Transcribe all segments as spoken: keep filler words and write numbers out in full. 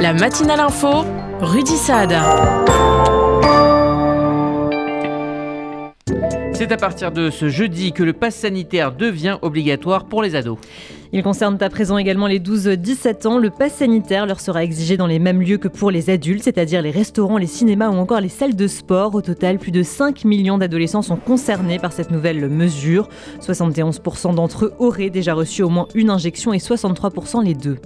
La matinale info, Rudy Saad. C'est à partir de ce jeudi que le pass sanitaire devient obligatoire pour les ados. Il concerne à présent également les douze dix-sept ans. Le pass sanitaire leur sera exigé dans les mêmes lieux que pour les adultes, c'est-à-dire les restaurants, les cinémas ou encore les salles de sport. Au total, plus de cinq millions d'adolescents sont concernés par cette nouvelle mesure. soixante et onze pour cent d'entre eux auraient déjà reçu au moins une injection et soixante-trois pour cent les deux.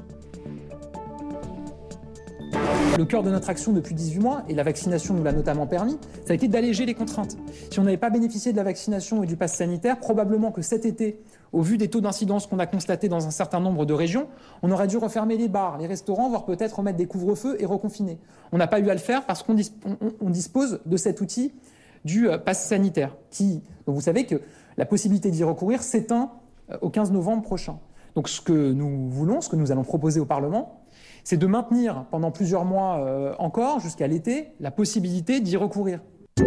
Le cœur de notre action depuis dix-huit mois, et la vaccination nous l'a notamment permis, ça a été d'alléger les contraintes. Si on n'avait pas bénéficié de la vaccination et du pass sanitaire, probablement que cet été, au vu des taux d'incidence qu'on a constatés dans un certain nombre de régions, on aurait dû refermer les bars, les restaurants, voire peut-être remettre des couvre-feux et reconfiner. On n'a pas eu à le faire parce qu'on dis- on, on dispose de cet outil du euh, pass sanitaire. Qui, donc vous savez que la possibilité d'y recourir s'éteint euh, au quinze novembre prochain. Donc ce que nous voulons, ce que nous allons proposer au Parlement, c'est de maintenir pendant plusieurs mois euh, encore, jusqu'à l'été, la possibilité d'y recourir.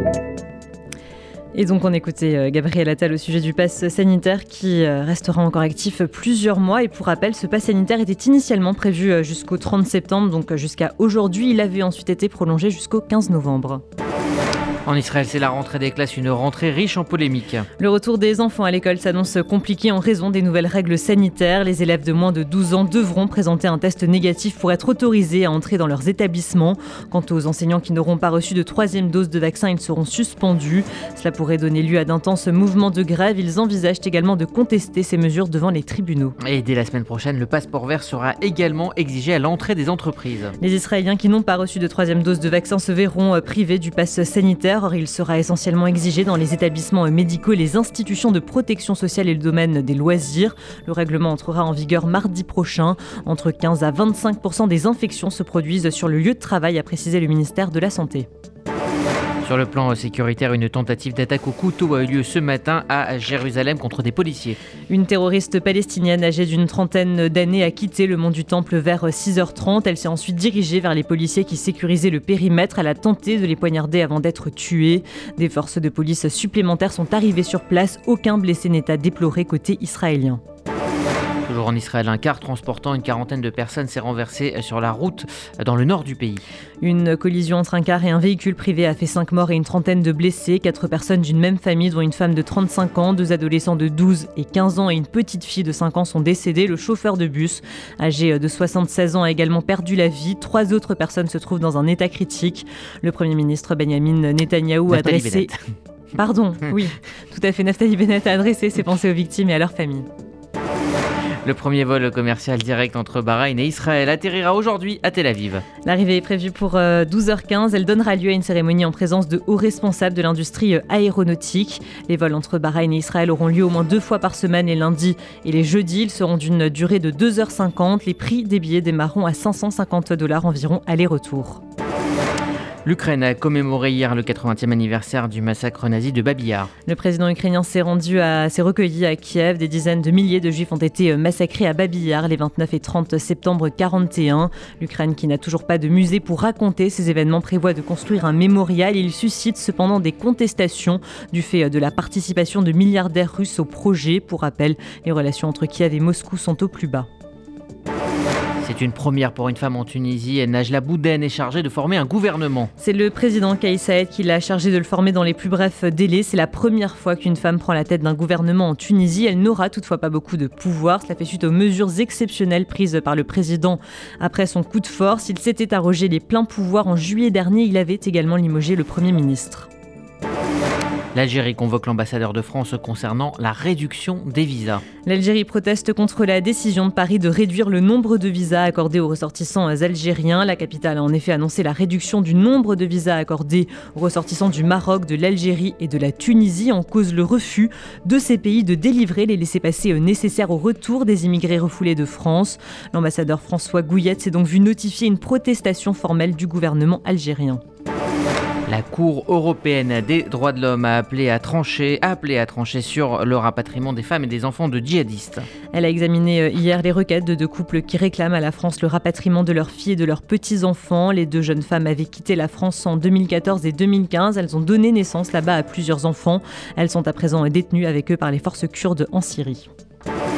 Et donc on écoutait Gabriel Attal au sujet du pass sanitaire qui restera encore actif plusieurs mois. Et pour rappel, ce pass sanitaire était initialement prévu jusqu'au trente septembre, donc jusqu'à aujourd'hui. Il avait ensuite été prolongé jusqu'au quinze novembre. En Israël, c'est la rentrée des classes, une rentrée riche en polémiques. Le retour des enfants à l'école s'annonce compliqué en raison des nouvelles règles sanitaires. Les élèves de moins de douze ans devront présenter un test négatif pour être autorisés à entrer dans leurs établissements. Quant aux enseignants qui n'auront pas reçu de troisième dose de vaccin, ils seront suspendus. Cela pourrait donner lieu à d'intenses mouvements de grève. Ils envisagent également de contester ces mesures devant les tribunaux. Et dès la semaine prochaine, le passeport vert sera également exigé à l'entrée des entreprises. Les Israéliens qui n'ont pas reçu de troisième dose de vaccin se verront privés du pass sanitaire. Or, il sera essentiellement exigé dans les établissements médicaux, les institutions de protection sociale et le domaine des loisirs. Le règlement entrera en vigueur mardi prochain. Entre quinze à vingt-cinq pour cent des infections se produisent sur le lieu de travail, a précisé le ministère de la Santé. Sur le plan sécuritaire, une tentative d'attaque au couteau a eu lieu ce matin à Jérusalem contre des policiers. Une terroriste palestinienne âgée d'une trentaine d'années a quitté le mont du Temple vers six heures trente. Elle s'est ensuite dirigée vers les policiers qui sécurisaient le périmètre. Elle a tenté de les poignarder avant d'être tuée. Des forces de police supplémentaires sont arrivées sur place. Aucun blessé n'est à déplorer côté israélien. Toujours en Israël, un car transportant une quarantaine de personnes s'est renversé sur la route dans le nord du pays. Une collision entre un car et un véhicule privé a fait cinq morts et une trentaine de blessés. Quatre personnes d'une même famille, dont une femme de trente-cinq ans, deux adolescents de douze et quinze ans et une petite fille de cinq ans sont décédés. Le chauffeur de bus, âgé de soixante-seize ans, a également perdu la vie. Trois autres personnes se trouvent dans un état critique. Le Premier ministre Benjamin Netanyahou a adressé... Pardon, oui, tout à fait. Naftali Bennett a adressé ses pensées aux victimes et à leurs familles. Le premier vol commercial direct entre Bahreïn et Israël atterrira aujourd'hui à Tel Aviv. L'arrivée est prévue pour douze heures quinze. Elle donnera lieu à une cérémonie en présence de hauts responsables de l'industrie aéronautique. Les vols entre Bahreïn et Israël auront lieu au moins deux fois par semaine, les lundis et les jeudis. Ils seront d'une durée de deux heures cinquante. Les prix des billets démarreront à cinq cent cinquante dollars environ aller-retour. L'Ukraine a commémoré hier le quatre-vingtième anniversaire du massacre nazi de Babi Yar. Le président ukrainien s'est rendu à, s'est recueilli à Kiev. Des dizaines de milliers de juifs ont été massacrés à Babi Yar les vingt-neuf et trente septembre quarante et un. L'Ukraine, qui n'a toujours pas de musée pour raconter ces événements, prévoit de construire un mémorial. Il suscite cependant des contestations du fait de la participation de milliardaires russes au projet. Pour rappel, les relations entre Kiev et Moscou sont au plus bas. C'est une première pour une femme en Tunisie. Najla Bouden est chargée de former un gouvernement. C'est le président Kais Saied qui l'a chargée de le former dans les plus brefs délais. C'est la première fois qu'une femme prend la tête d'un gouvernement en Tunisie. Elle n'aura toutefois pas beaucoup de pouvoir. Cela fait suite aux mesures exceptionnelles prises par le président après son coup de force. Il s'était arrogé les pleins pouvoirs en juillet dernier. Il avait également limogé le Premier ministre. L'Algérie convoque l'ambassadeur de France concernant la réduction des visas. L'Algérie proteste contre la décision de Paris de réduire le nombre de visas accordés aux ressortissants algériens. La capitale a en effet annoncé la réduction du nombre de visas accordés aux ressortissants du Maroc, de l'Algérie et de la Tunisie, en cause le refus de ces pays de délivrer les laissez-passer nécessaires au retour des immigrés refoulés de France. L'ambassadeur François Gouillette s'est donc vu notifier une protestation formelle du gouvernement algérien. La Cour européenne des droits de l'homme a appelé à trancher, a appelé à trancher sur le rapatriement des femmes et des enfants de djihadistes. Elle a examiné hier les requêtes de deux couples qui réclament à la France le rapatriement de leurs filles et de leurs petits-enfants. Les deux jeunes femmes avaient quitté la France en deux mille quatorze et deux mille quinze. Elles ont donné naissance là-bas à plusieurs enfants. Elles sont à présent détenues avec eux par les forces kurdes en Syrie.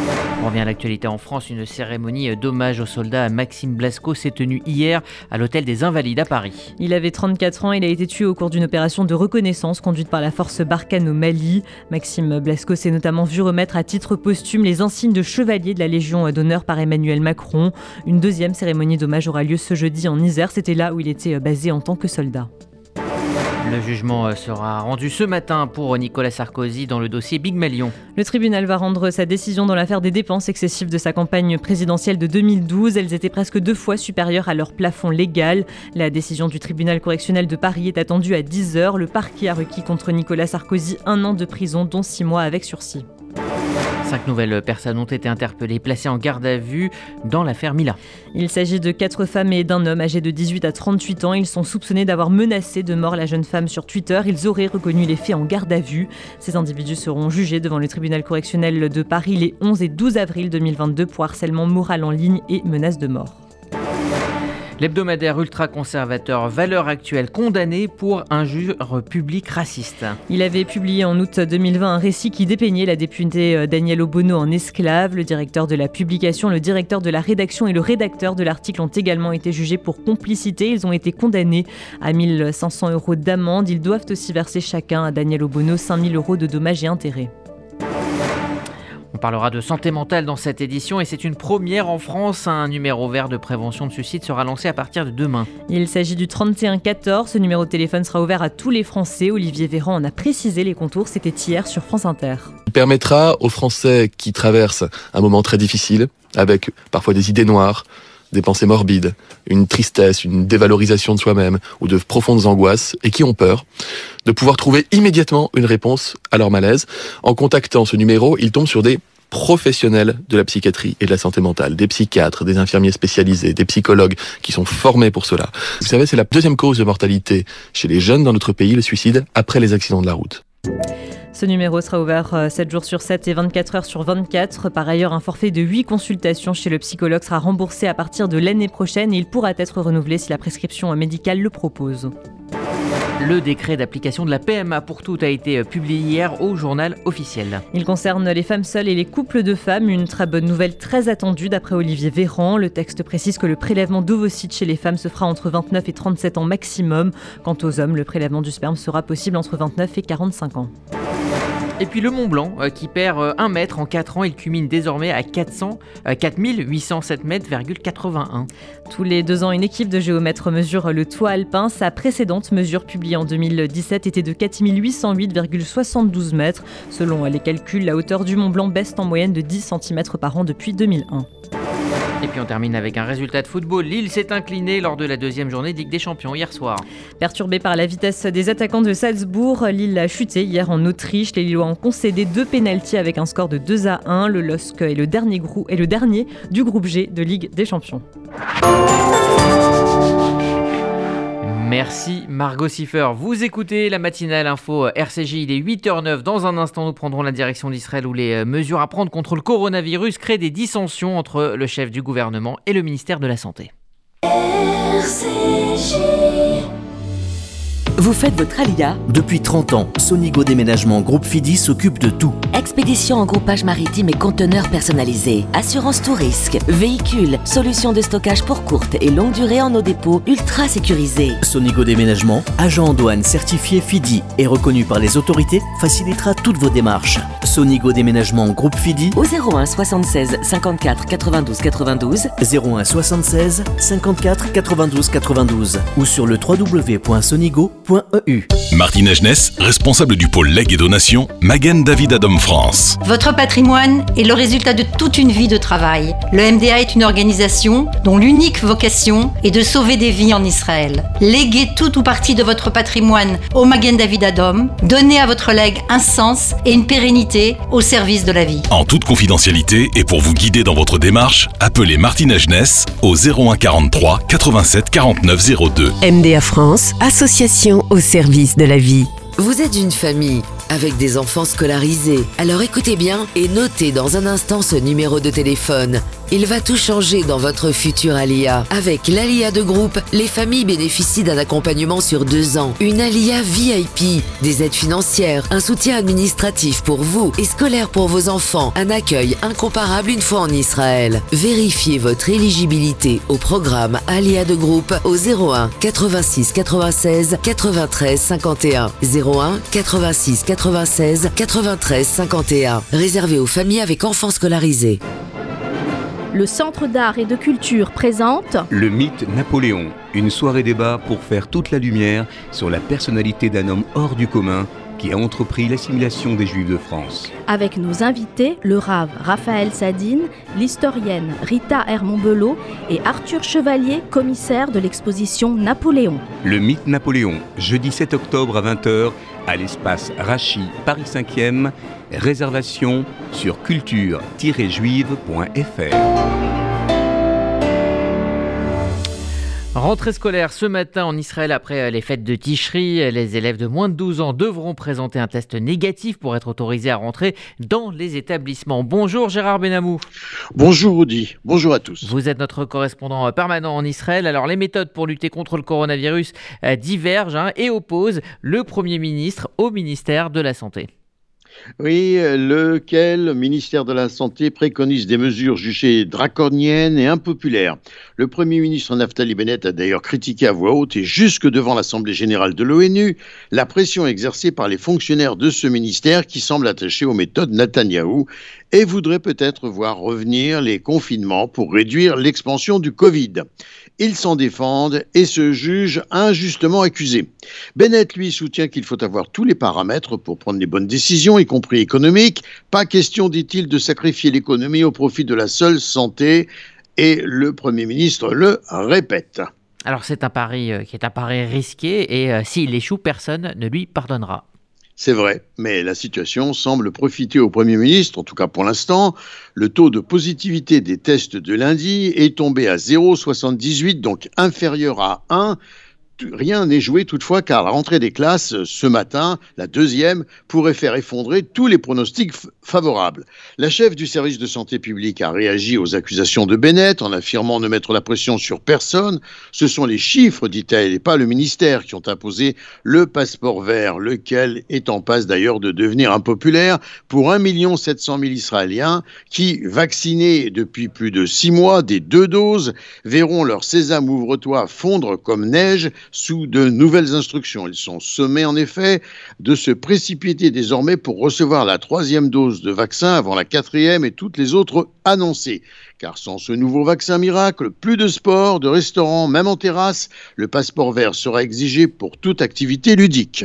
On revient à l'actualité en France. Une cérémonie d'hommage aux soldats Maxime Blasco s'est tenue hier à l'hôtel des Invalides à Paris. Il avait trente-quatre ans, il a été tué au cours d'une opération de reconnaissance conduite par la force Barkhane au Mali. Maxime Blasco s'est notamment vu remettre à titre posthume les insignes de chevalier de la Légion d'honneur par Emmanuel Macron. Une deuxième cérémonie d'hommage aura lieu ce jeudi en Isère. C'était là où il était basé en tant que soldat. Le jugement sera rendu ce matin pour Nicolas Sarkozy dans le dossier Big Malion. Le tribunal va rendre sa décision dans l'affaire des dépenses excessives de sa campagne présidentielle de deux mille douze. Elles étaient presque deux fois supérieures à leur plafond légal. La décision du tribunal correctionnel de Paris est attendue à dix heures. Le parquet a requis contre Nicolas Sarkozy un an de prison, dont six mois avec sursis. Cinq nouvelles personnes ont été interpellées, placées en garde à vue dans l'affaire Mila. Il s'agit de quatre femmes et d'un homme âgés de dix-huit à trente-huit ans. Ils sont soupçonnés d'avoir menacé de mort la jeune femme sur Twitter. Ils auraient reconnu les faits en garde à vue. Ces individus seront jugés devant le tribunal correctionnel de Paris les onze et douze avril deux mille vingt-deux pour harcèlement moral en ligne et menace de mort. L'hebdomadaire ultra-conservateur Valeurs Actuelles condamné pour injure publique raciste. Il avait publié en août deux mille vingt un récit qui dépeignait la députée Danielle Obono en esclave. Le directeur de la publication, le directeur de la rédaction et le rédacteur de l'article ont également été jugés pour complicité. Ils ont été condamnés à mille cinq cents euros d'amende. Ils doivent aussi verser chacun à Danielle Obono cinq mille euros de dommages et intérêts. On parlera de santé mentale dans cette édition et c'est une première en France. Un numéro vert de prévention de suicide sera lancé à partir de demain. Il s'agit du trente et un quatorze. Ce numéro de téléphone sera ouvert à tous les Français. Olivier Véran en a précisé les contours. C'était hier sur France Inter. Il permettra aux Français qui traversent un moment très difficile, avec parfois des idées noires, des pensées morbides, une tristesse, une dévalorisation de soi-même ou de profondes angoisses et qui ont peur, de pouvoir trouver immédiatement une réponse à leur malaise. En contactant ce numéro, ils tombent sur des professionnels de la psychiatrie et de la santé mentale, des psychiatres, des infirmiers spécialisés, des psychologues qui sont formés pour cela. Vous savez, c'est la deuxième cause de mortalité chez les jeunes dans notre pays, le suicide, après les accidents de la route. Ce numéro sera ouvert sept jours sur sept et vingt-quatre heures sur vingt-quatre. Par ailleurs, un forfait de huit consultations chez le psychologue sera remboursé à partir de l'année prochaine et il pourra être renouvelé si la prescription médicale le propose. Le décret d'application de la P M A pour toutes a été publié hier au journal officiel. Il concerne les femmes seules et les couples de femmes. Une très bonne nouvelle très attendue d'après Olivier Véran. Le texte précise que le prélèvement d'ovocytes chez les femmes se fera entre vingt-neuf et trente-sept ans maximum. Quant aux hommes, le prélèvement du sperme sera possible entre vingt-neuf et quarante-cinq ans. Et puis le Mont Blanc euh, qui perd euh, un mètre en quatre ans, il culmine désormais à quatre cents, euh, quatre mille huit cent sept mètres, quatre-vingt-un. Tous les deux ans, une équipe de géomètres mesure le toit alpin. Sa précédente mesure publiée en deux mille dix-sept était de quatre mille huit cent huit virgule soixante-douze mètres. Selon les calculs, la hauteur du Mont Blanc baisse en moyenne de dix centimètres par an depuis deux mille un. Et puis on termine avec un résultat de football. Lille s'est incliné lors de la deuxième journée de Ligue des Champions hier soir. Perturbé par la vitesse des attaquants de Salzbourg, Lille a chuté hier en Autriche. Les Lillois ont concédé deux pénaltys avec un score de deux à un. Le L O S C est le dernier, grou- est le dernier du groupe G de Ligue des Champions. Merci Margot Siffer. Vous écoutez la matinale info R C J, il est huit heures zéro neuf. Dans un instant, nous prendrons la direction d'Israël où les mesures à prendre contre le coronavirus créent des dissensions entre le chef du gouvernement et le ministère de la Santé. R C J. Vous faites votre alia ? Depuis trente ans, Sonigo Déménagement Groupe Fidi s'occupe de tout. Expédition en groupage maritime et conteneurs personnalisés. Assurance tout risque. Véhicules. Solutions de stockage pour courte et longue durée en nos dépôts ultra sécurisés. Sonigo Déménagement, agent en douane certifié Fidi et reconnu par les autorités, facilitera toutes vos démarches. Sonigo Déménagement Groupe Fidi au zéro un soixante-seize cinquante-quatre quatre-vingt-douze quatre-vingt-douze. zéro un soixante-seize cinquante-quatre quatre-vingt-douze quatre-vingt-douze ou sur le w w w point sonigo point e u. Martine Agenès, responsable du pôle legs et donations, Magen David Adom France. Votre patrimoine est le résultat de toute une vie de travail. Le M D A est une organisation dont l'unique vocation est de sauver des vies en Israël. Léguez tout ou partie de votre patrimoine au Magen David Adom. Donnez à votre legs un sens et une pérennité au service de la vie. En toute confidentialité et pour vous guider dans votre démarche, appelez Martine Agenès au zéro un quarante-trois quatre-vingt-sept quarante-neuf zéro deux. M D A France, association au service de la vie. Vous êtes une famille avec des enfants scolarisés. Alors écoutez bien et notez dans un instant ce numéro de téléphone. Il va tout changer dans votre futur Alia. Avec l'Alia de groupe, les familles bénéficient d'un accompagnement sur deux ans, une Alia V I P, des aides financières, un soutien administratif pour vous et scolaire pour vos enfants, un accueil incomparable une fois en Israël. Vérifiez votre éligibilité au programme Alia de groupe au zéro un quatre-vingt-six quatre-vingt-seize quatre-vingt-treize cinquante et un. zéro un quatre-vingt-six quatre-vingt-seize quatre-vingt-treize cinquante et un. Réservé aux familles avec enfants scolarisés. Le Centre d'art et de culture présente Le mythe Napoléon, une soirée débat pour faire toute la lumière sur la personnalité d'un homme hors du commun qui a entrepris l'assimilation des Juifs de France. Avec nos invités, le rave Raphaël Sadine, l'historienne Rita Hermont-Belot et Arthur Chevalier, commissaire de l'exposition Napoléon. Le mythe Napoléon, jeudi sept octobre à vingt heures à l'espace Rachi, Paris cinquième. Réservation sur culture tiret juive point f r. Rentrée scolaire ce matin en Israël après les fêtes de Tishri. Les élèves de moins de douze ans devront présenter un test négatif pour être autorisés à rentrer dans les établissements. Bonjour Gérard Benamou. Bonjour Rudy, bonjour à tous. Vous êtes notre correspondant permanent en Israël. Alors les méthodes pour lutter contre le coronavirus divergent hein, et opposent le Premier ministre au ministère de la Santé. Oui, lequel ministère de la Santé préconise des mesures jugées draconiennes et impopulaires. Le Premier ministre Naftali Bennett a d'ailleurs critiqué à voix haute et jusque devant l'Assemblée générale de l'ONU la pression exercée par les fonctionnaires de ce ministère qui semblent attachés aux méthodes Netanyahou et voudraient peut-être voir revenir les confinements pour réduire l'expansion du Covid. Ils s'en défendent et se jugent injustement accusés. Bennett, lui, soutient qu'il faut avoir tous les paramètres pour prendre les bonnes décisions, y compris économiques. Pas question, dit-il, de sacrifier l'économie au profit de la seule santé. Et le Premier ministre le répète. Alors c'est un pari euh, qui est un pari risqué et euh, s'il échoue, personne ne lui pardonnera. C'est vrai, mais la situation semble profiter au Premier ministre, en tout cas pour l'instant. Le taux de positivité des tests de lundi est tombé à zéro virgule soixante-dix-huit, donc inférieur à un. Rien n'est joué toutefois car la rentrée des classes ce matin, la deuxième, pourrait faire effondrer tous les pronostics f- favorables. La chef du service de santé publique a réagi aux accusations de Bennett en affirmant ne mettre la pression sur personne. Ce sont les chiffres, dit-elle, et pas le ministère qui ont imposé le passeport vert, lequel est en passe d'ailleurs de devenir impopulaire pour un million sept cent mille Israéliens qui, vaccinés depuis plus de six mois des deux doses, verront leur sésame ouvre-toi fondre comme neige sous de nouvelles instructions. Ils sont sommés en effet de se précipiter désormais pour recevoir la troisième dose de vaccin avant la quatrième et toutes les autres annoncées. Car sans ce nouveau vaccin miracle, plus de sport, de restaurants, même en terrasse, le passeport vert sera exigé pour toute activité ludique.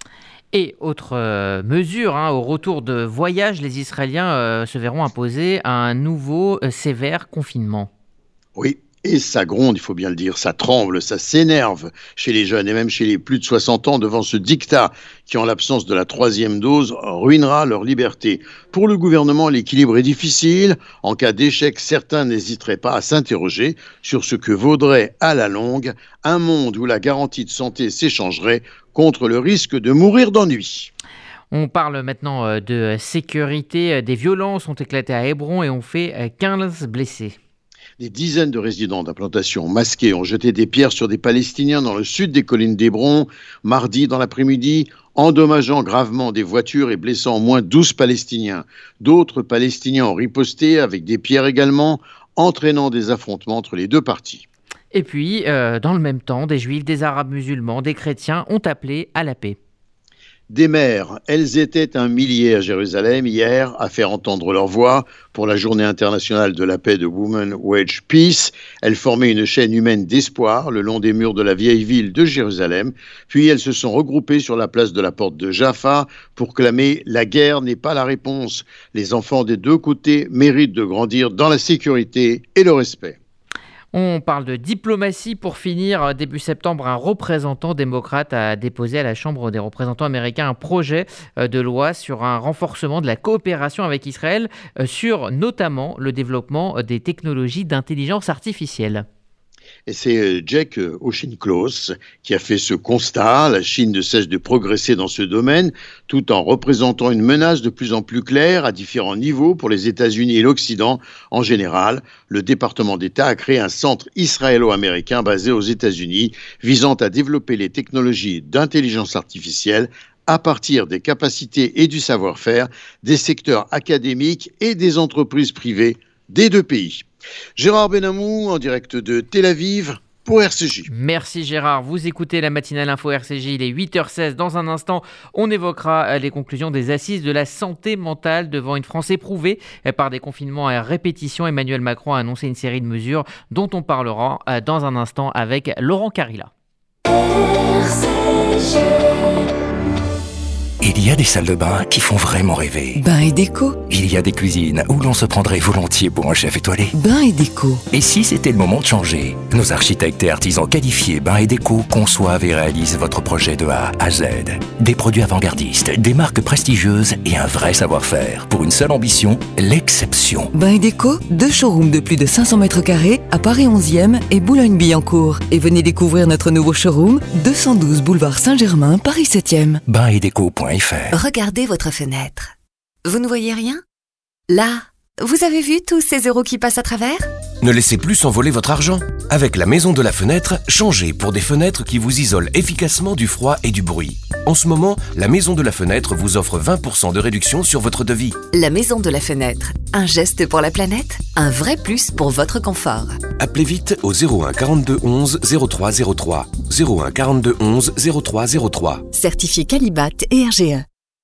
Et autre euh, mesure, hein, au retour de voyage, les Israéliens euh, se verront imposer un nouveau euh, sévère confinement. Oui. Et ça gronde, il faut bien le dire, ça tremble, ça s'énerve chez les jeunes et même chez les plus de soixante ans devant ce diktat qui, en l'absence de la troisième dose, ruinera leur liberté. Pour le gouvernement, l'équilibre est difficile. En cas d'échec, certains n'hésiteraient pas à s'interroger sur ce que vaudrait à la longue un monde où la garantie de santé s'échangerait contre le risque de mourir d'ennui. On parle maintenant de sécurité. Des violences ont éclaté à Hébron et ont fait quinze blessés. Des dizaines de résidents d'implantations masqués ont jeté des pierres sur des Palestiniens dans le sud des collines d'Hébron, mardi dans l'après-midi, endommageant gravement des voitures et blessant au moins douze Palestiniens. D'autres Palestiniens ont riposté avec des pierres également, entraînant des affrontements entre les deux parties. Et puis, euh, dans le même temps, des Juifs, des Arabes musulmans, des chrétiens ont appelé à la paix. Des mères, elles étaient un millier à Jérusalem hier à faire entendre leur voix pour la journée internationale de la paix de Women Wage Peace. Elles formaient une chaîne humaine d'espoir le long des murs de la vieille ville de Jérusalem. Puis elles se sont regroupées sur la place de la porte de Jaffa pour clamer « La guerre n'est pas la réponse ». Les enfants des deux côtés méritent de grandir dans la sécurité et le respect. On parle de diplomatie pour finir. Début septembre, un représentant démocrate a déposé à la Chambre des représentants américains un projet de loi sur un renforcement de la coopération avec Israël, sur notamment le développement des technologies d'intelligence artificielle. Et c'est Jack Auchincloss qui a fait ce constat. La Chine ne cesse de progresser dans ce domaine, tout en représentant une menace de plus en plus claire à différents niveaux pour les États-Unis et l'Occident en général. Le département d'État a créé un centre israélo-américain basé aux États-Unis, visant à développer les technologies d'intelligence artificielle à partir des capacités et du savoir-faire des secteurs académiques et des entreprises privées des deux pays. Gérard Benamou, en direct de Tel Aviv, pour R C J. Merci Gérard, vous écoutez la matinale info R C J, il est huit heures seize. Dans un instant, on évoquera les conclusions des assises de la santé mentale devant une France éprouvée par des confinements à répétition. Emmanuel Macron a annoncé une série de mesures dont on parlera dans un instant avec Laurent Carilla. R C J. Il y a des salles de bain qui font vraiment rêver. Bain et déco. Il y a des cuisines où l'on se prendrait volontiers pour un chef étoilé. Bain et déco. Et si c'était le moment de changer? Nos architectes et artisans qualifiés Bain et déco conçoivent et réalisent votre projet de A à Z. Des produits avant-gardistes, des marques prestigieuses et un vrai savoir-faire. Pour une seule ambition, l'exception. Bain et déco, deux showrooms de plus de cinq cents mètres carrés à Paris onzième et Boulogne-Billancourt. Et venez découvrir notre nouveau showroom, deux cent douze boulevard Saint-Germain, Paris septième. bain et déco point f r. Regardez votre fenêtre. Vous ne voyez rien? Là, vous avez vu tous ces euros qui passent à travers? Ne laissez plus s'envoler votre argent. Avec la Maison de la Fenêtre, changez pour des fenêtres qui vous isolent efficacement du froid et du bruit. En ce moment, la Maison de la Fenêtre vous offre vingt pour cent de réduction sur votre devis. La Maison de la Fenêtre. Un geste pour la planète, un vrai plus pour votre confort. Appelez vite au zéro un quarante-deux onze zéro trois zéro trois. zéro un quarante-deux onze zéro trois zéro trois. Certifié Qualibat et R G E.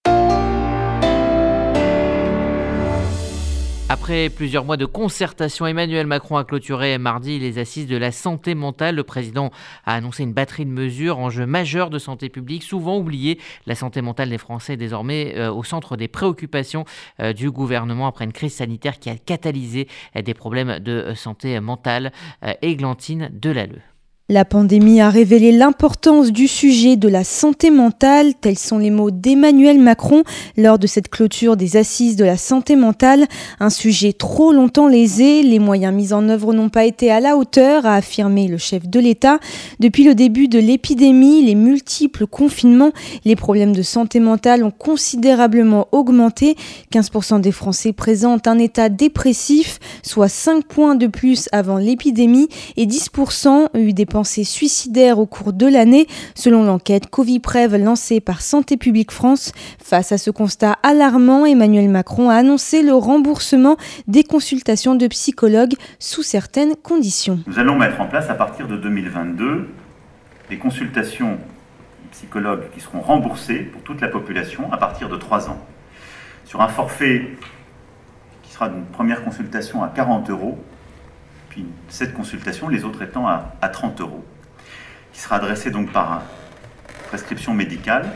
Après plusieurs mois de concertation, Emmanuel Macron a clôturé mardi les assises de la santé mentale. Le président a annoncé une batterie de mesures, enjeux majeurs de santé publique, souvent oubliés. La santé mentale des Français est désormais euh, au centre des préoccupations euh, du gouvernement après une crise sanitaire qui a catalysé euh, des problèmes de euh, santé mentale. Euh, Églantine Delalleux. La pandémie a révélé l'importance du sujet de la santé mentale, tels sont les mots d'Emmanuel Macron lors de cette clôture des assises de la santé mentale. Un sujet trop longtemps lésé, les moyens mis en œuvre n'ont pas été à la hauteur, a affirmé le chef de l'État. Depuis le début de l'épidémie, les multiples confinements, les problèmes de santé mentale ont considérablement augmenté. quinze pour cent des Français présentent un état dépressif, soit cinq points de plus avant l'épidémie, et dix pour cent ont eu des pensées suicidaires au cours de l'année, selon l'enquête Coviprev lancée par Santé publique France. Face à ce constat alarmant, Emmanuel Macron a annoncé le remboursement des consultations de psychologues sous certaines conditions. Nous allons mettre en place à partir de deux mille vingt-deux des consultations psychologues qui seront remboursées pour toute la population à partir de trois ans. Sur un forfait qui sera d'une première consultation à quarante euros, puis cette consultation, les autres étant à, à trente euros, qui sera adressée donc par prescription médicale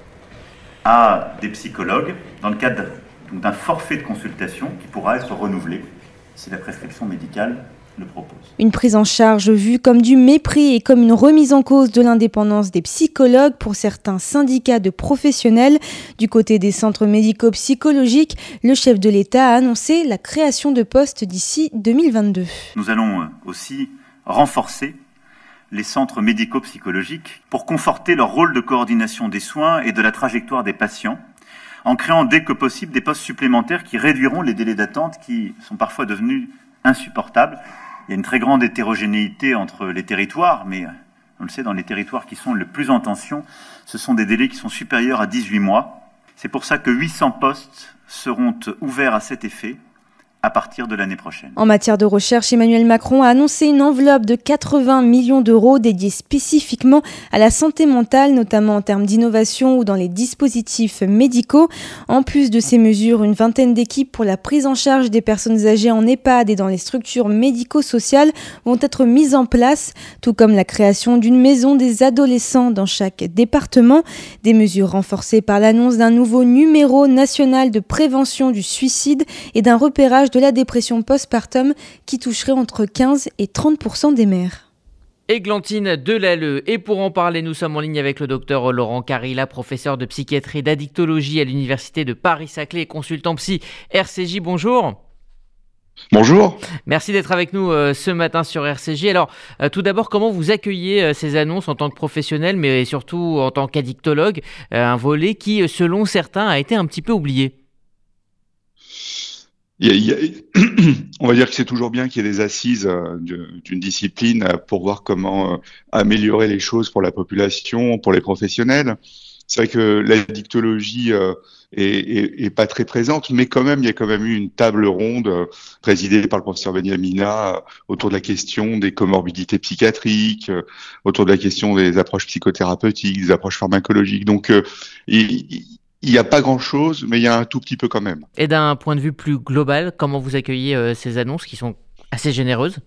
à des psychologues dans le cadre donc, d'un forfait de consultation qui pourra être renouvelé si la prescription médicale le propose. Une prise en charge vue comme du mépris et comme une remise en cause de l'indépendance des psychologues pour certains syndicats de professionnels. Du côté des centres médico-psychologiques, le chef de l'État a annoncé la création de postes d'ici deux mille vingt-deux. Nous allons aussi renforcer les centres médico-psychologiques pour conforter leur rôle de coordination des soins et de la trajectoire des patients, en créant dès que possible des postes supplémentaires qui réduiront les délais d'attente qui sont parfois devenus insupportables. Il y a une très grande hétérogénéité entre les territoires, mais on le sait, dans les territoires qui sont le plus en tension, ce sont des délais qui sont supérieurs à dix-huit mois. C'est pour ça que huit cents postes seront ouverts à cet effet à partir de l'année prochaine. En matière de recherche, Emmanuel Macron a annoncé une enveloppe de quatre-vingts millions d'euros dédiée spécifiquement à la santé mentale, notamment en termes d'innovation ou dans les dispositifs médicaux. En plus de ces mesures, une vingtaine d'équipes pour la prise en charge des personnes âgées en EHPAD et dans les structures médico-sociales vont être mises en place, tout comme la création d'une maison des adolescents dans chaque département. Des mesures renforcées par l'annonce d'un nouveau numéro national de prévention du suicide et d'un repérage de la dépression postpartum qui toucherait entre quinze et trente pour cent des mères. Églantine Delalleux. Et pour en parler, nous sommes en ligne avec le docteur Laurent Carilla, professeur de psychiatrie et d'addictologie à l'université de Paris-Saclay et consultant psy R C J. Bonjour. Bonjour. Merci d'être avec nous euh, ce matin sur R C J. Alors, euh, tout d'abord, comment vous accueillez euh, ces annonces en tant que professionnel, mais surtout en tant qu'addictologue, euh, un volet qui, selon certains, a été un petit peu oublié? Il y a, il y a, on va dire que c'est toujours bien qu'il y ait des assises euh, d'une discipline euh, pour voir comment euh, améliorer les choses pour la population, pour les professionnels. C'est vrai que l'addictologie euh, est, est, est pas très présente, mais quand même, il y a quand même eu une table ronde euh, présidée par le professeur Beniamina euh, autour de la question des comorbidités psychiatriques, euh, autour de la question des approches psychothérapeutiques, des approches pharmacologiques. Donc, euh, il, il n'y a pas grand-chose, mais il y a un tout petit peu quand même. Et d'un point de vue plus global, comment vous accueillez euh, ces annonces qui sont assez généreuses?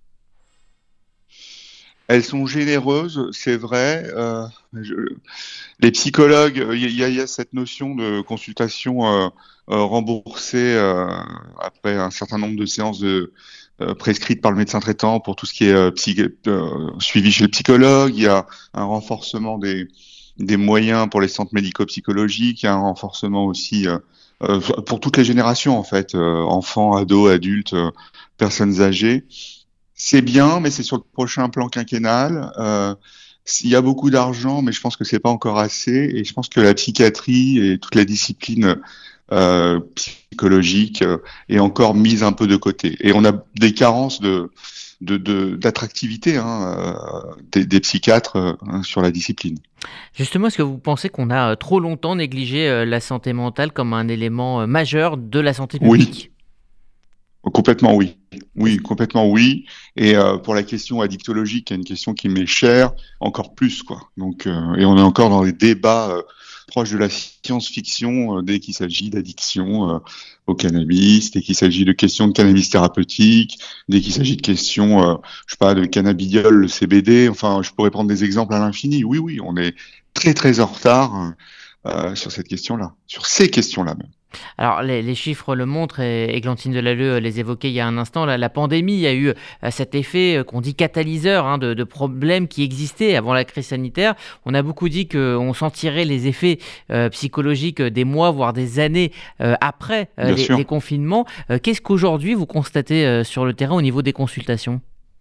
Elles sont généreuses, c'est vrai. Euh, je, les psychologues, il y, y a cette notion de consultation euh, euh, remboursée euh, après un certain nombre de séances de, euh, prescrites par le médecin traitant pour tout ce qui est euh, psy, euh, suivi chez le psychologue. Il y a un renforcement des, des moyens pour les centres médico-psychologiques. Il y a un renforcement aussi euh, euh, pour toutes les générations, en fait, euh, enfants, ados, adultes, euh, personnes âgées. C'est bien, mais c'est sur le prochain plan quinquennal. Euh, il y a beaucoup d'argent, mais je pense que c'est pas encore assez. Et je pense que la psychiatrie et toute la discipline euh, psychologique euh, est encore mise un peu de côté. Et on a des carences de de, de d'attractivité hein, euh, des, des psychiatres euh, sur la discipline. Justement, est-ce que vous pensez qu'on a trop longtemps négligé euh, la santé mentale comme un élément euh, majeur de la santé publique? Oui. Complètement oui. Oui, complètement oui. Et euh, pour la question addictologique, qui est une question qui m'est chère, encore plus quoi. Donc, euh, et on est encore dans des débats euh, proches de la science-fiction euh, dès qu'il s'agit d'addiction euh, au cannabis, dès qu'il s'agit de questions de cannabis thérapeutique, dès qu'il s'agit de questions, euh, je sais pas, de cannabidiol, le C B D. Enfin, je pourrais prendre des exemples à l'infini. Oui, oui, on est très très en retard euh, sur cette question-là, sur ces questions-là même. Alors, les, les chiffres le montrent, et Églantine Delalleux les évoquait il y a un instant. La, la pandémie a eu euh, cet effet euh, qu'on dit catalyseur hein, de, de problèmes qui existaient avant la crise sanitaire. On a beaucoup dit qu'on sentirait les effets euh, psychologiques des mois, voire des années euh, après euh, les, les confinements. Euh, qu'est-ce qu'aujourd'hui vous constatez euh, sur le terrain au niveau des consultations ?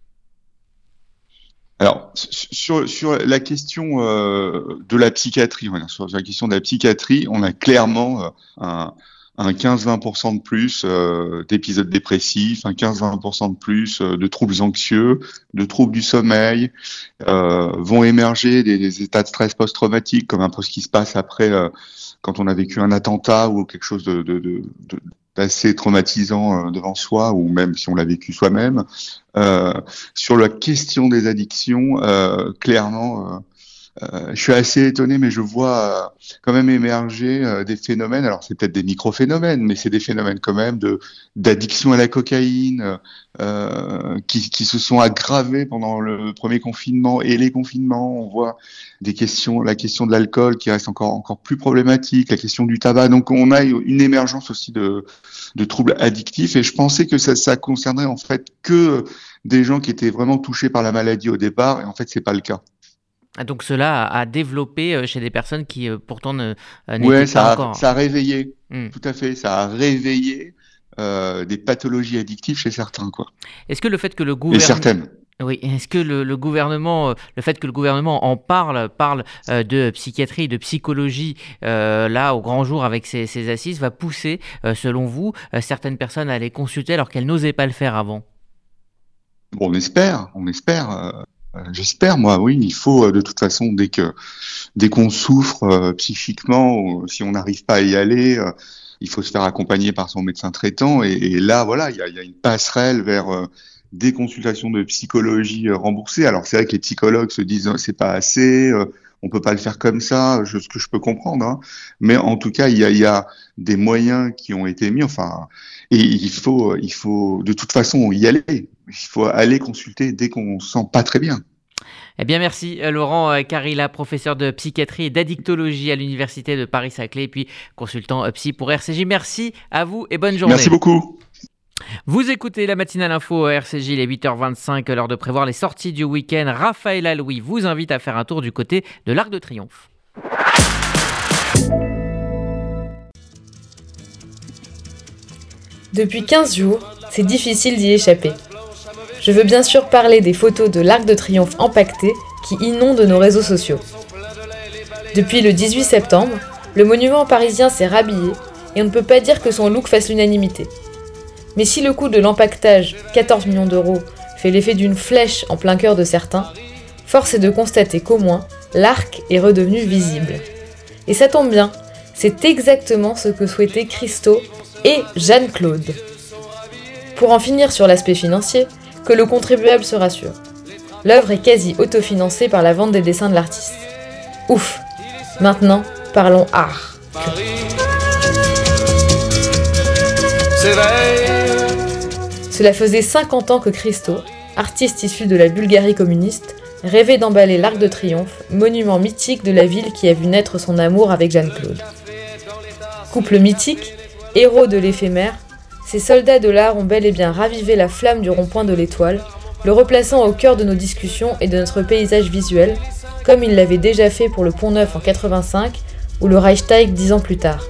Alors, sur, sur la question euh, de la psychiatrie, voilà, sur la question de la psychiatrie, on a clairement euh, un, un quinze à vingt pour cent de plus euh, d'épisodes dépressifs, un quinze à vingt pour cent de plus euh, de troubles anxieux, de troubles du sommeil, euh, vont émerger des, des états de stress post-traumatique, comme un peu ce qui se passe après euh, quand on a vécu un attentat ou quelque chose de, de, de, de assez traumatisant euh, devant soi, ou même si on l'a vécu soi-même. Euh, sur la question des addictions, euh, clairement, euh, euh, je suis assez étonné, mais je vois euh, quand même émerger euh, des phénomènes. Alors c'est peut-être des micro-phénomènes, mais c'est des phénomènes quand même de d'addiction à la cocaïne euh, qui, qui se sont aggravés pendant le premier confinement et les confinements. On voit des questions, la question de l'alcool qui reste encore encore plus problématique, la question du tabac. Donc on a une émergence aussi de de troubles addictifs, et je pensais que ça ça concernerait en fait que des gens qui étaient vraiment touchés par la maladie au départ, et en fait c'est pas le cas. Donc cela a développé chez des personnes qui pourtant ne n'étaient ouais, pas ça a, encore... ça a réveillé, mmh. tout à fait, ça a réveillé euh, des pathologies addictives chez certains, quoi. Est-ce que le fait que le gouvernement... Et certaines. Oui, est-ce que le, le gouvernement, le fait que le gouvernement en parle, parle euh, de psychiatrie, de psychologie, euh, là, au grand jour avec ces, ces assises, va pousser, euh, selon vous, euh, certaines personnes à les consulter alors qu'elles n'osaient pas le faire avant ? Bon, on espère, on espère... Euh... J'espère, moi, oui. Il faut, de toute façon, dès que, dès qu'on souffre euh, psychiquement, ou si on n'arrive pas à y aller, euh, il faut se faire accompagner par son médecin traitant. Et, et là, voilà, il y a, y a une passerelle vers euh, des consultations de psychologie euh, remboursées. Alors, c'est vrai que les psychologues se disent oh, c'est pas assez, euh, on peut pas le faire comme ça, je, ce que je peux comprendre. Hein. Mais en tout cas, il y a, y a des moyens qui ont été mis. Enfin, et il faut, il faut, de toute façon, y aller. Il faut aller consulter dès qu'on se sent pas très bien. Eh bien, merci Laurent Carilla, professeur de psychiatrie et d'addictologie à l'Université de Paris-Saclay, et puis consultant psy pour R C J. Merci à vous et bonne journée. Merci beaucoup. Vous écoutez la matinale info R C J, il est huit heures vingt-cinq, l'heure de prévoir les sorties du week-end. Raphaël Aloui vous invite à faire un tour du côté de l'Arc de Triomphe. Depuis quinze jours, c'est difficile d'y échapper. Je veux bien sûr parler des photos de l'Arc de Triomphe empaqueté qui inondent nos réseaux sociaux. Depuis le dix-huit septembre, le monument parisien s'est rhabillé et on ne peut pas dire que son look fasse l'unanimité. Mais si le coût de l'empaquetage, quatorze millions d'euros, fait l'effet d'une flèche en plein cœur de certains, force est de constater qu'au moins, l'arc est redevenu visible. Et ça tombe bien, c'est exactement ce que souhaitaient Christo et Jeanne-Claude. Pour en finir sur l'aspect financier, que le contribuable se rassure. L'œuvre est quasi autofinancée par la vente des dessins de l'artiste. Ouf! Maintenant, parlons art. Cela faisait cinquante ans que Christo, artiste issu de la Bulgarie communiste, rêvait d'emballer l'Arc de Triomphe, monument mythique de la ville qui a vu naître son amour avec Jeanne-Claude. Couple mythique, héros de l'éphémère, ces soldats de l'art ont bel et bien ravivé la flamme du rond-point de l'Étoile, le replaçant au cœur de nos discussions et de notre paysage visuel, comme ils l'avaient déjà fait pour le Pont Neuf en quatre-vingt-cinq ou le Reichstag dix ans plus tard.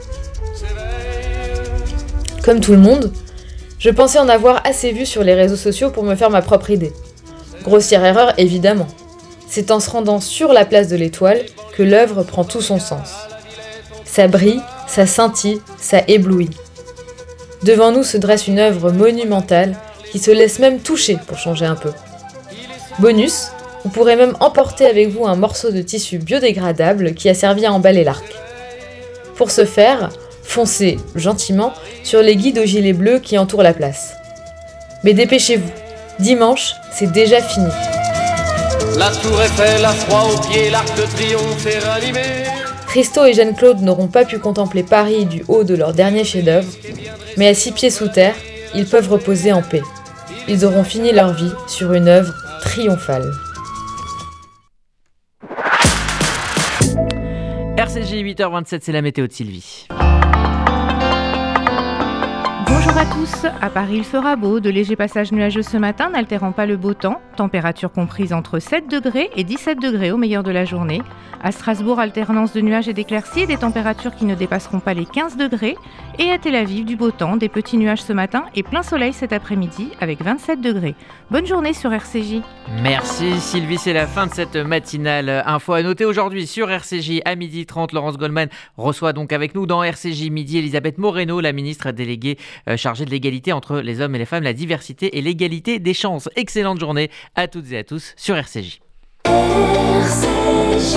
Comme tout le monde, je pensais en avoir assez vu sur les réseaux sociaux pour me faire ma propre idée. Grossière erreur, évidemment. C'est en se rendant sur la place de l'Étoile que l'œuvre prend tout son sens. Ça brille, ça scintille, ça éblouit. Devant nous se dresse une œuvre monumentale qui se laisse même toucher pour changer un peu. Bonus, vous pourrez même emporter avec vous un morceau de tissu biodégradable qui a servi à emballer l'arc. Pour ce faire, foncez gentiment sur les guides aux gilets bleus qui entourent la place. Mais dépêchez-vous, dimanche, c'est déjà fini. La tour Eiffel, à froid aux pieds, l'arc de triomphe est ranimé. Christo et Jeanne-Claude n'auront pas pu contempler Paris du haut de leur dernier chef-d'œuvre, mais à six pieds sous terre, ils peuvent reposer en paix. Ils auront fini leur vie sur une œuvre triomphale. R C J huit heures vingt-sept, c'est la météo de Sylvie. Bonjour à tous, à Paris il fera beau, de légers passages nuageux ce matin n'altérant pas le beau temps, température comprise entre sept degrés et dix-sept degrés au meilleur de la journée. À Strasbourg, alternance de nuages et d'éclaircies et des températures qui ne dépasseront pas les quinze degrés. Et à Tel Aviv, du beau temps, des petits nuages ce matin et plein soleil cet après-midi avec vingt-sept degrés. Bonne journée sur R C J. Merci Sylvie, c'est la fin de cette matinale. Info à noter aujourd'hui sur R C J à midi trente. Laurence Goldman reçoit donc avec nous dans R C J midi Elisabeth Moreno, la ministre déléguée euh, chargée de l'égalité entre les hommes et les femmes, la diversité et l'égalité des chances. Excellente journée à toutes et à tous sur R C J. R C J.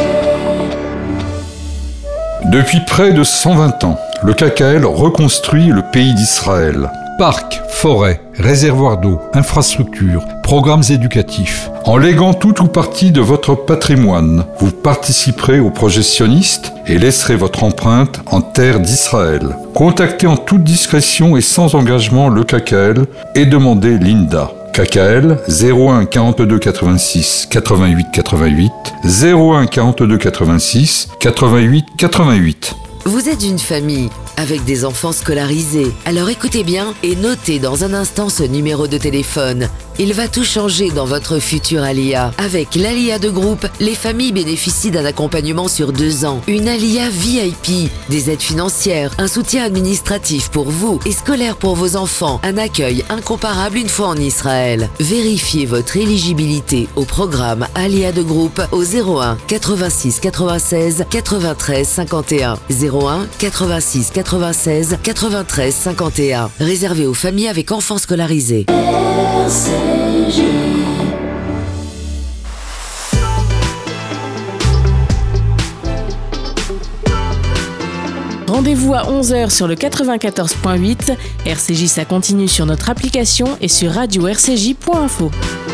Depuis près de cent vingt ans, le K K L reconstruit le pays d'Israël. Parcs, forêts, réservoirs d'eau, infrastructures, programmes éducatifs. En léguant tout ou partie de votre patrimoine, vous participerez au projet sioniste et laisserez votre empreinte en terre d'Israël. Contactez en toute discrétion et sans engagement le K K L et demandez l'I N D A. K K L zéro un quarante-deux quatre-vingt-six quatre-vingt-huit quatre-vingt-huit zéro un quarante-deux quatre-vingt-six quatre-vingt-huit quatre-vingt-huit. Vous êtes une famille avec des enfants scolarisés. Alors écoutez bien et notez dans un instant ce numéro de téléphone. Il va tout changer dans votre future Alia. Avec l'Alia de groupe, les familles bénéficient d'un accompagnement sur deux ans. Une Alia V I P, des aides financières, un soutien administratif pour vous et scolaire pour vos enfants, un accueil incomparable une fois en Israël. Vérifiez votre éligibilité au programme Alia de groupe au zéro un quatre-vingt-six quatre-vingt-seize quatre-vingt-treize cinquante et un. zéro un quatre-vingt-six quatre-vingt-seize quatre-vingt-treize cinquante et un. Réservé aux familles avec enfants scolarisés. R C J. Rendez-vous à onze heures sur le quatre-vingt-quatorze point huit. R C J, ça continue sur notre application et sur radio r c j point info.